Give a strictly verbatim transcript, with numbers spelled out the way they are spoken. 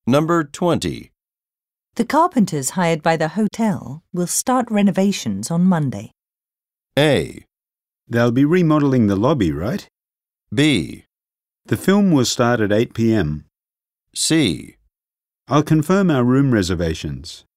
Number twenty. The carpenters hired by the hotel will start renovations on Monday. A. They'll be remodeling the lobby, right? B. The film will start at eight p m. C. I'll confirm our room reservations.